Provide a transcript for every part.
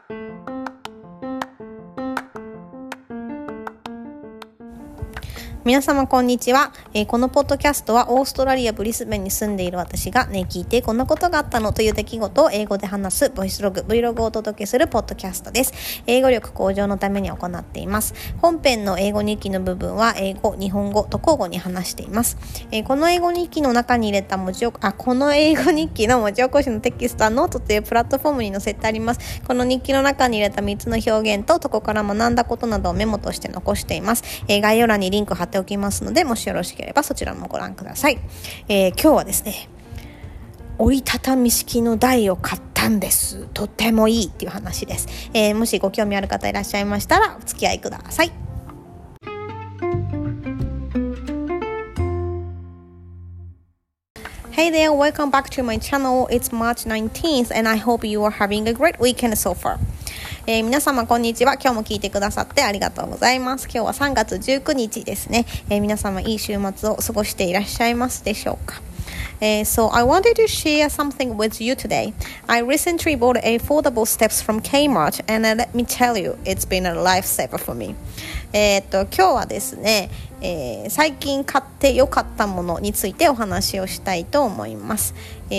皆様こんにちは、このポッドキャストはオーストラリアブリスベンに住んでいる私が聞いてこんなことがあったのという出来事を英語で話すボイスログ Vlog をお届けするポッドキャストです。英語力向上のために行っています。本編の英語日記の部分は英語、日本語と交互に話しています。この英語日記の中に入れたこの英語日記の文字起こしのテキストはノートというプラットフォームに載せてあります。この日記の中に入れた3つの表現とそこから学んだことなどをメモとして残しています。概要欄にリンク貼っておきますので、もしよろしければそちらもご覧ください。今日はですね、折りたたみ式の台を買ったんです。とってもいいっていう話です。もしご興味ある方いらっしゃいましたらお付き合いください。Hey there, welcome back to my channel. It's March 19th and I hope you are having a great weekend so far. 皆様こんにちは。今日も聞いてくださってありがとうございます。今日は3月19日ですね。皆様いい週末を過ごしていらっしゃいますでしょうか。So I wanted to share something with you today. I recently bought affordable steps from Kmart and let me tell you, it's been a lifesaver for me. 今日はですね、最近買って良かったものについてお話をしたいと思います。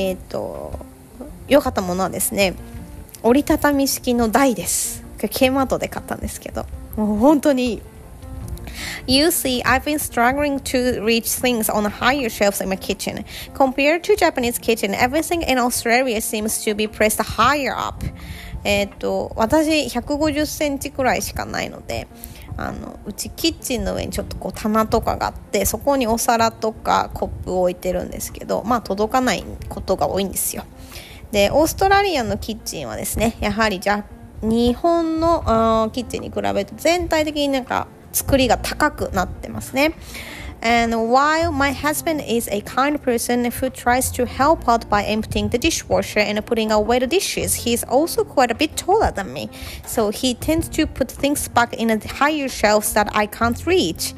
良かったものはですね、折りたたみ式の台です。Kmartで買ったんですけど、もう本当にいい。You see, I've been struggling to reach things on the higher shelves in my kitchen. Compared to Japanese kitchen, everything in Australia seems to be pressed higher up. 私150センチくらいしかないので、うちキッチンの上にちょっとこう棚とかがあって、そこにお皿とかコップを置いてるんですけど、届かないことが多いんですよ。で、オーストラリアのキッチンはですね、やはり日本のキッチンに比べて全体的になんか作りが高くなってますね。And while my husband is a kind person who tries to help out by emptying the dishwasher and putting away the dishes, he's also quite a bit taller than me. So he tends to put things back in the higher shelves that I can't reach.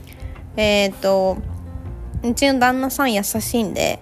うちの旦那さん優しいんで、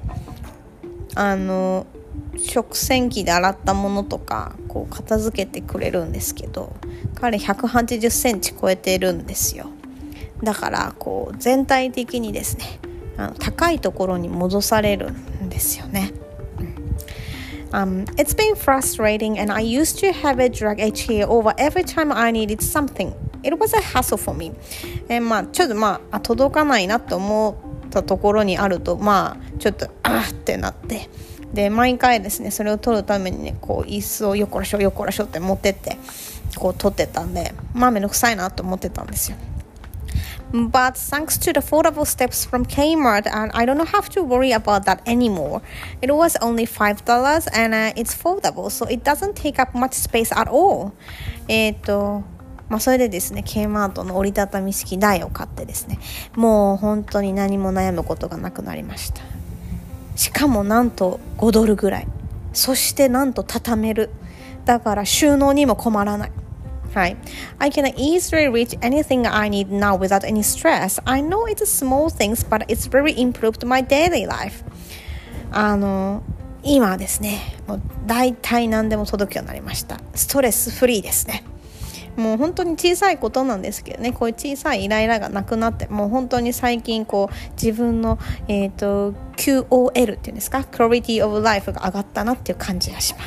食洗機で洗ったものとかこう片付けてくれるんですけど、彼180センチ超えてるんですよ。だからこう全体的にですね、高いところに戻されるんですよね。It's been frustrating and I used to have it drag a chair over every time I needed something. It was a hassle for me. ちょっと届かないなと思ったところにあるとちょっとってなって、で毎回ですね、それを取るためにね、こう椅子をよこらしょって持ってってこう取ってたんで、めんどくさいなと思ってたんですよ。But thanks to the foldable steps from Kmart, I don't have to worry about that anymore. It was only $5 and it's foldable, so it doesn't take up much space at all. それでですね、Kmartの折りたたみ式台を買ってですね、もう本当に何も悩むことがなくなりました。しかもなんと$5ぐらい。そしてなんと畳める。だから収納にも困らない。はい。I can easily reach anything I need now without any stress. I know it's small things, but it's very improved my daily life. 今はですね、もう大体何でも届くようになりました。ストレスフリーですね。もう本当に小さいことなんですけどね、こういう小さいイライラがなくなって、もう本当に最近こう自分の、QOL っていうんですか、Quality of Life が上がったなっていう感じがします。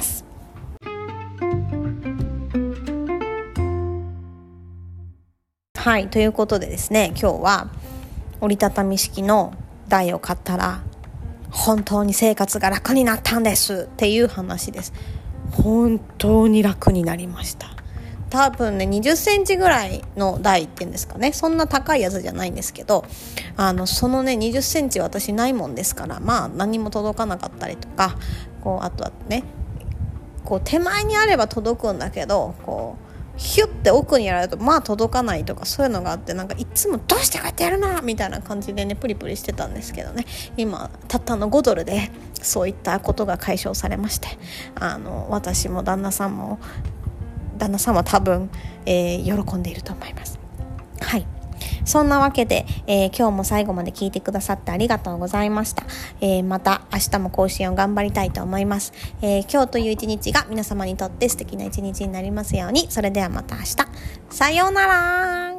はい、ということでですね、今日は折りたたみ式の台を買ったら本当に生活が楽になったんですっていう話です。本当に楽になりました。多分ね、20センチぐらいの台っていうんですかね、そんな高いやつじゃないんですけど、そのね20センチ私ないもんですから、何も届かなかったりとか、こうあとはね、こう手前にあれば届くんだけど、こうヒュッて奥にやられると届かないとか、そういうのがあって、なんかいつもどうしてこうやってやるなみたいな感じでね、プリプリしてたんですけどね、今たったの$5でそういったことが解消されまして、私も旦那さんは多分、喜んでいると思います。はい。 そんなわけで、今日も最後まで聞いてくださってありがとうございました。また明日も更新を頑張りたいと思います。今日という一日が皆様にとって素敵な一日になりますように。それではまた明日。さようなら。